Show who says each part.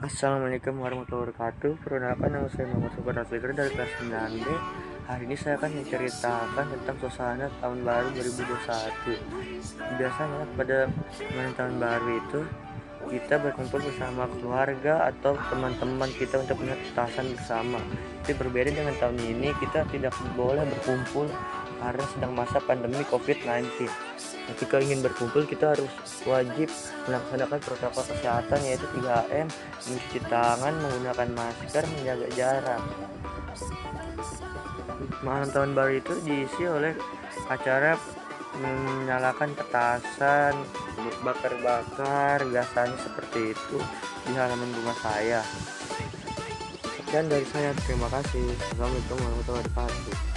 Speaker 1: Assalamualaikum warahmatullahi wabarakatuh. Perkenalkan, nama saya Muhammad Sobar Asliker dari kelas 9B. Hari ini saya akan menceritakan tentang suasana tahun baru 2021. Biasanya pada malam tahun baru itu kita berkumpul bersama keluarga atau teman-teman kita untuk melihat petasan bersama. Tapi berbeda dengan tahun ini, kita tidak boleh berkumpul karena sedang masa pandemi COVID-19. Ketika ingin berkumpul, kita harus wajib melaksanakan protokol kesehatan, yaitu 3M, mencuci tangan, menggunakan masker, menjaga jarak. Malam tahun baru itu diisi oleh acara menyalakan petasan, bakar-bakar, biasanya seperti itu di halaman rumah saya. Sekian dari saya, terima kasih. Assalamualaikum warahmatullahi wabarakatuh.